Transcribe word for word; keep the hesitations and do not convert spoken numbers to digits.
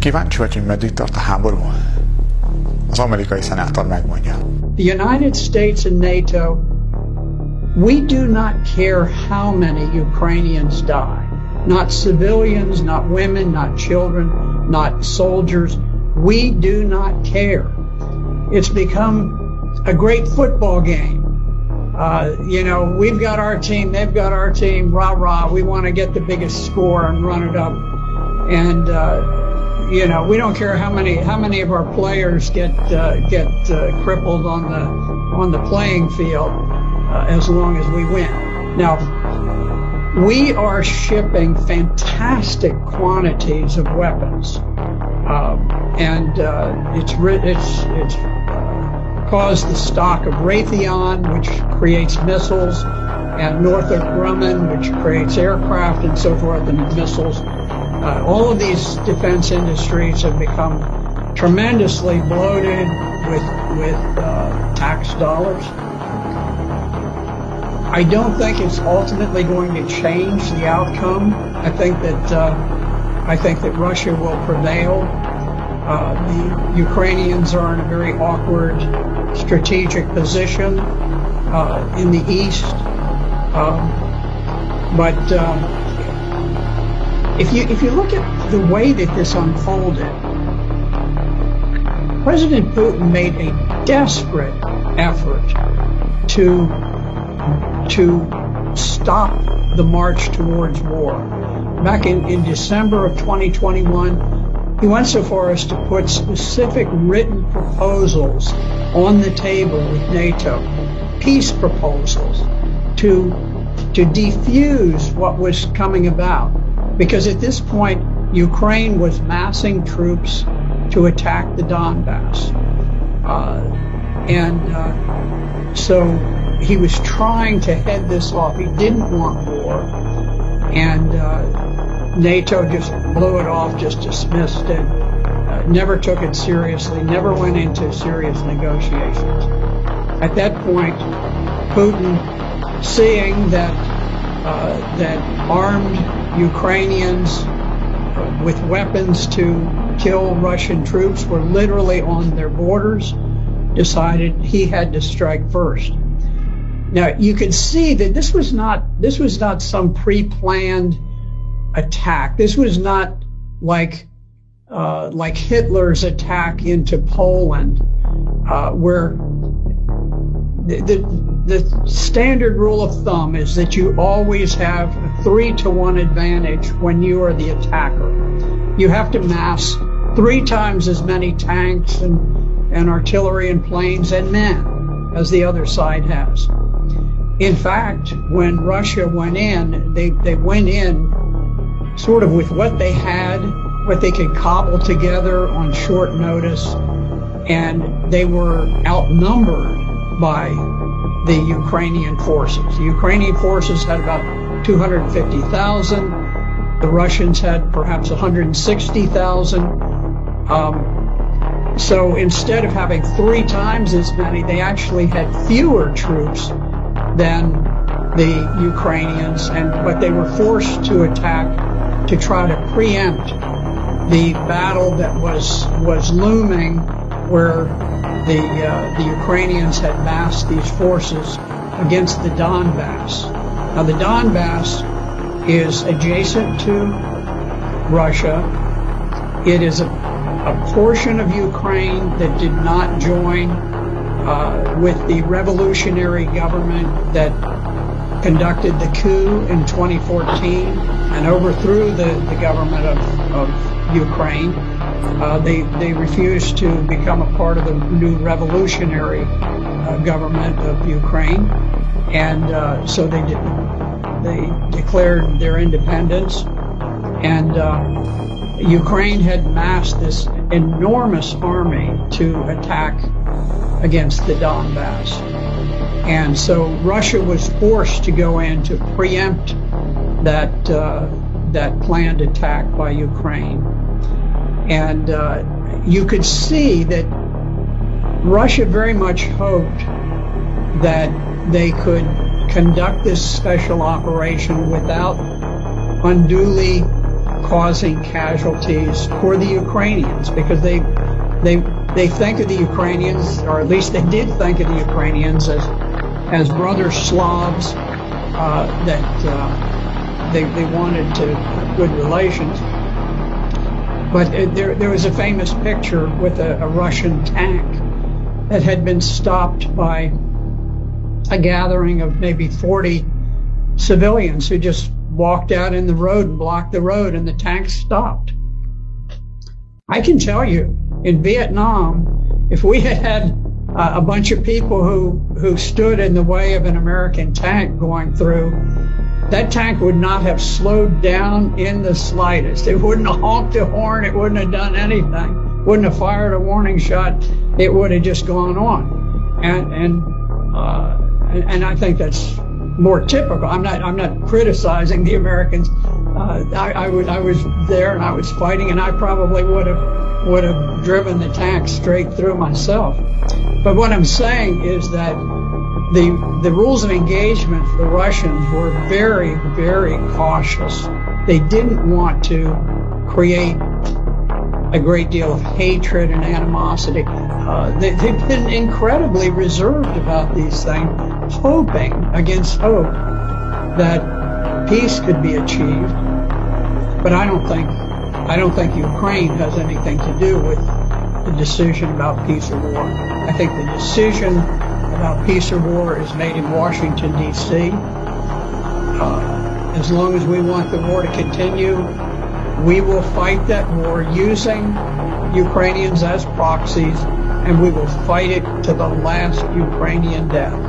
Kíváncsi vagy, hogy meddig tart a háború? Az amerikai szenátor megmondja. The United States and NATO, we do not care how many Ukrainians die. Not civilians, not women, not children, not soldiers. We do not care. It's become a great football game. Uh, you know, we've got our team, they've got our team, rah, rah. We want to get the biggest score and run it up. And, uh, you know, we don't care how many how many of our players get uh, get uh, crippled on the on the playing field uh, as long as we win. Now, we are shipping fantastic quantities of weapons, um, and uh, it's it's it's uh, caused the stock of Raytheon, which creates missiles, and Northrop Grumman, which creates aircraft and so forth, and missiles. Uh, all of these defense industries have become tremendously bloated with with uh, tax dollars. I don't think it's ultimately going to change the outcome. I think that uh, I think that Russia will prevail. Uh, the Ukrainians are in a very awkward strategic position uh, in the east, um, but. Uh, If you if you look at the way that this unfolded, President Putin made a desperate effort to to stop the march towards war. Back in, in December of twenty twenty-one, he went so far as to put specific written proposals on the table with NATO, peace proposals, to to defuse what was coming about. Because at this point, Ukraine was massing troops to attack the Donbass. Uh, and uh, so he was trying to head this off. He didn't want war. And uh, NATO just blew it off, just dismissed it, uh, never took it seriously, never went into serious negotiations. At that point, Putin, seeing that uh, that armed Ukrainians with weapons to kill Russian troops were literally on their borders, decided he had to strike first. Now, you can see that this was not this was not some pre-planned attack. This was not like uh, like Hitler's attack into Poland, uh, where the, the The standard rule of thumb is that you always have a three to one advantage when you are the attacker. You have to mass three times as many tanks and, and artillery and planes and men as the other side has. In fact, when Russia went in, they, they went in sort of with what they had, what they could cobble together on short notice, and they were outnumbered by the Ukrainian forces. The Ukrainian forces had about two hundred fifty thousand. The Russians had perhaps one hundred sixty thousand. Um, so instead of having three times as many, they actually had fewer troops than the Ukrainians, and but they were forced to attack to try to preempt the battle that was was looming, where The, uh, the Ukrainians had massed these forces against the Donbass. Now, the Donbass is adjacent to Russia. It is a, a portion of Ukraine that did not join uh, with the revolutionary government that conducted the coup in twenty fourteen and overthrew the, the government of, of Ukraine. Uh, they they refused to become a part of the new revolutionary uh, government of Ukraine, and uh, so they did, they declared their independence. And uh, Ukraine had massed this enormous army to attack against the Donbass, and so Russia was forced to go in to preempt that uh, that planned attack by Ukraine. And uh, you could see that Russia very much hoped that they could conduct this special operation without unduly causing casualties for the Ukrainians, because they they they think of the Ukrainians, or at least they did think of the Ukrainians as as brother Slavs uh, that uh, they they wanted to have good relations. But it, there there was a famous picture with a, a Russian tank that had been stopped by a gathering of maybe forty civilians who just walked out in the road and blocked the road, and the tank stopped. I can tell you, in Vietnam, if we had had uh, a bunch of people who, who stood in the way of an American tank going through, that tank would not have slowed down in the slightest. It wouldn't have honked a horn. It wouldn't have done anything. Wouldn't have fired a warning shot. It would have just gone on. And, and, uh, and I think that's more typical. I'm not, I'm not criticizing the Americans. Uh, I, I was, I was there and I was fighting, and I probably would have, would have driven the tank straight through myself. But what I'm saying is that the, the rules of engagement for the Russians were very, very cautious. They didn't want to create a great deal of hatred and animosity. Uh, they, they've been incredibly reserved about these things, hoping against hope that peace could be achieved. But I don't think, I don't think Ukraine has anything to do with the decision about peace or war. I think the decision about peace or war is made in Washington, D C Uh, as long as we want the war to continue, we will fight that war using Ukrainians as proxies, and we will fight it to the last Ukrainian death.